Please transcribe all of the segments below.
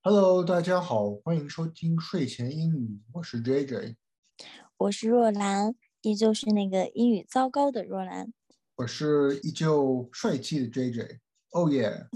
Hello，大家好，欢迎收听睡前英语，我是 JJ， 我是若兰，依旧是那个英语糟糕的若兰。 我是依旧帅气的 JJ。哦耶，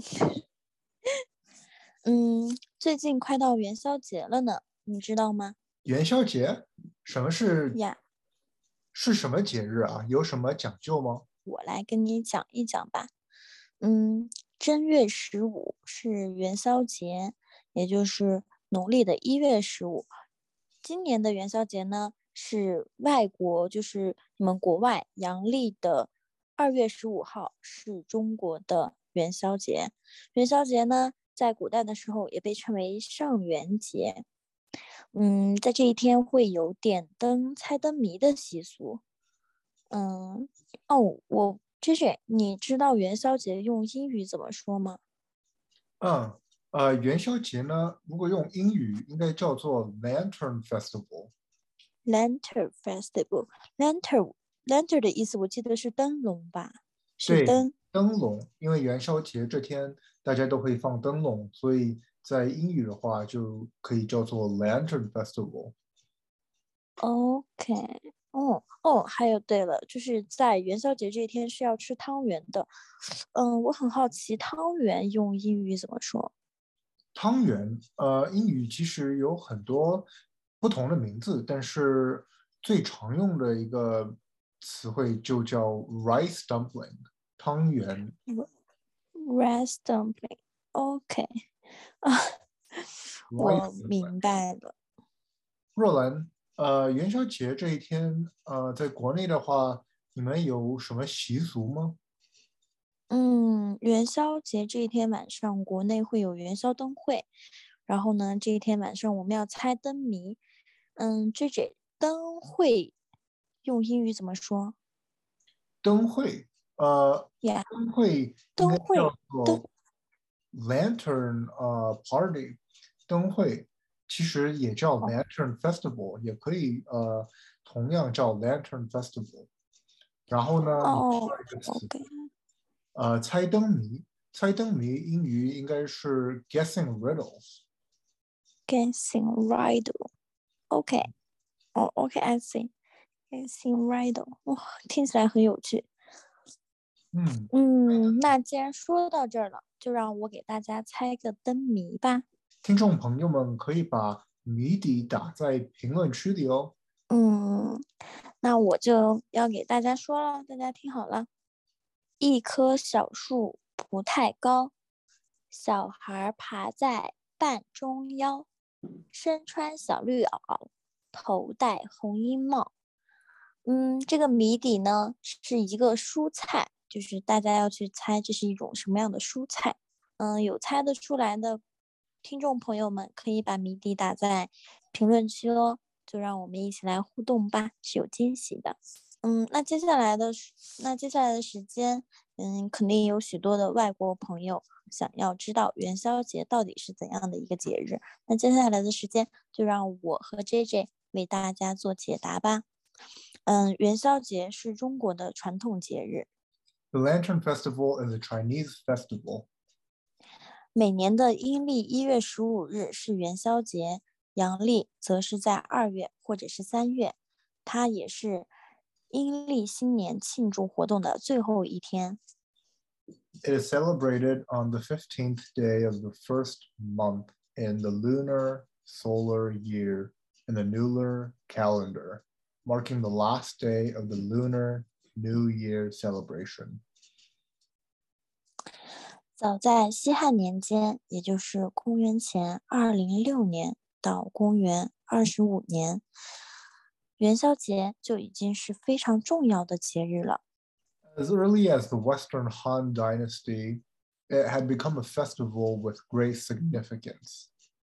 最近快到元宵节了呢，你知道吗？ 元宵节，什么呀， 是什么节日啊？有什么讲究吗？ 我来跟你讲一讲吧。嗯，正月15是元宵节，也就是农历的1月15。今年的元宵节呢是外国，就是你们国外阳历的2月15号是中国的元宵节。元宵节呢，在古代的时候也被称为上元节。在这一天会有点灯、猜灯谜的习俗。嗯，J J，你知道元宵节用英语怎么说吗嗯，元宵节呢，如果用英语应该叫做 Lantern Festival。 ？Lantern Festival，Lantern 的意思我记得是灯笼吧？是对， 灯。 灯笼，因为元宵节这天大家都会放灯笼，所以在英语的话就可以叫做 Lantern Festival。 OK，哦，还有对了，就是在元宵节这一天是要吃汤圆的。我很好奇，汤圆用英语怎么说？ 汤圆，英语其实有很多不同的名字，但是最常用的一个词汇就叫 rice dumpling，汤圆。 Rice dumpling。OK，啊， rice 我 dumpling。 明白了。 若兰，元宵节这一天，在国内的话，你们有什么习俗吗？ 元宵节这一天晚上，国内会有元宵灯会，然后呢，这一天晚上我们要猜灯谜。这灯会用英语怎么说灯会， 呀灯会应该叫灯会灯做 lantern party，灯会其实也叫哦 lantern festival，也可以同样叫 lantern festival。然后呢，你说哦一个词， ，OK， 猜灯谜，猜灯谜英语应该是 guessing riddles。 guessing riddle，OK，哦，OK，I see，guessing riddle，哇，听起来很有趣。 嗯， 那既然说到这儿了，就让我给大家猜个灯谜吧。 听众朋友们可以把谜底打在评论区里哦。 嗯，那我就要给大家说了，大家听好了。一棵小树不太高，小孩爬在半中腰，身穿小绿袄，头戴红缨帽。这个谜底呢是一个蔬菜，就是大家要去猜这是一种什么样的蔬菜。有猜得出来的听众朋友们可以把谜底打在评论区哦，就让我们一起来互动吧，是有惊喜的。那接下来的时间，肯定有许多的外国朋友想要知道元宵节到底是怎样的一个节日。那接下来的时间，就让我和 JJ 为大家做解答吧。元宵节是中国的传统节日， The Lantern Festival is a Chinese festival. 每年的阴历1月15日是元宵节，阳历则是在2月或者是3月，它也是阴历新年庆祝活动的最后一天。 It is celebrated on the 15th day of the first month in the lunar solar year in the lunar calendar, marking the last day of the Lunar New Year celebration. 早在西汉年间，也就是公元前206年到公元25年，元宵节就已经是非常重要的节日了。 As early as the Western Han Dynasty, it had become a festival with great significance.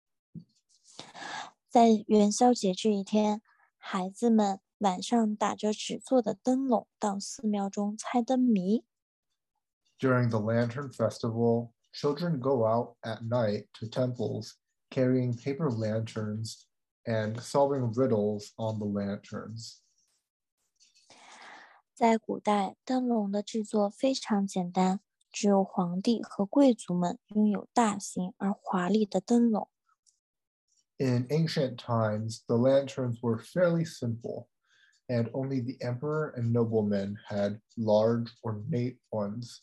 在元宵节这一天，孩子们晚上打着纸做的灯笼到寺庙中猜灯谜。 During the Lantern Festival, children go out at night to temples carrying paper lanterns and solving riddles on the lanterns. 在古代，灯笼的制作非常简单，只有皇帝和贵族们拥有大型而华丽的灯笼。 In ancient times, the lanterns were fairly simple, and only the emperor and noblemen had large, ornate ones.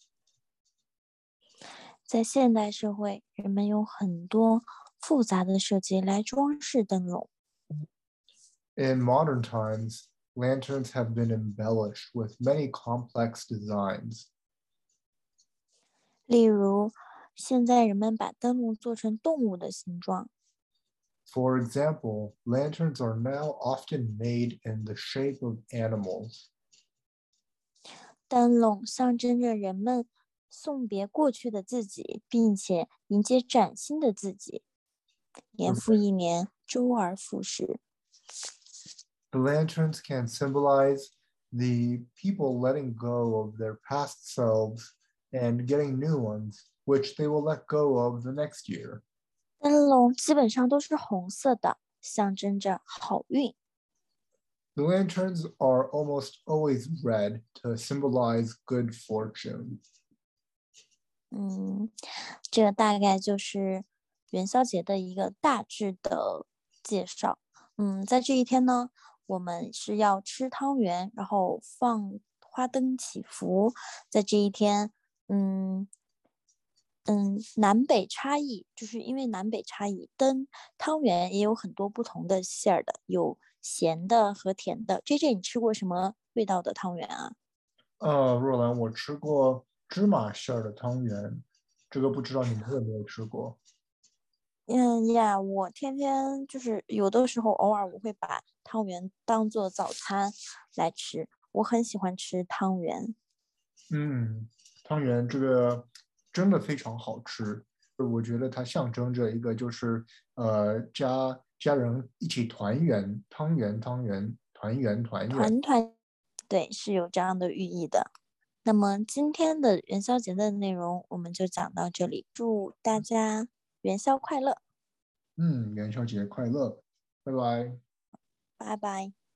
在现代社会，人们用很多复杂的设计来装饰灯笼。 In modern times, lanterns have been embellished with many complex designs. 例如，现在人们把灯笼做成动物的形状。 For example, lanterns are now often made in the shape of animals. 灯笼象征着人们送别过去的自己，并且迎接崭新的自己。年复一年，周而复始。 The lanterns can symbolize the people letting go of their past selves and getting new ones, which they will let go of the next year. 灯笼基本上都是红色的，象征着好运。 The lanterns are almost always red to symbolize good fortune. 这个大概就是元宵节的一个大致的介绍。在这一天呢，我们是要吃汤圆，然后放花灯祈福。在这一天，南北差异，就是因为南北差异，汤圆也有很多不同的馅儿的，有咸的和甜的。JJ，你吃过什么味道的汤圆啊？ 若兰，我吃过芝麻馅儿的汤圆，这个不知道你们有没有吃过？ 我天天就是有的时候偶尔我会把汤圆当做早餐来吃，我很喜欢吃汤圆。 汤圆这个真的非常好吃，我觉得它象征着一个就是家人一起团圆，汤圆团圆团圆。 团团，对，是有这样的寓意的。那么今天的元宵节的内容我们就讲到这里，祝大家元宵快乐， 元宵节快乐，拜拜。 拜拜。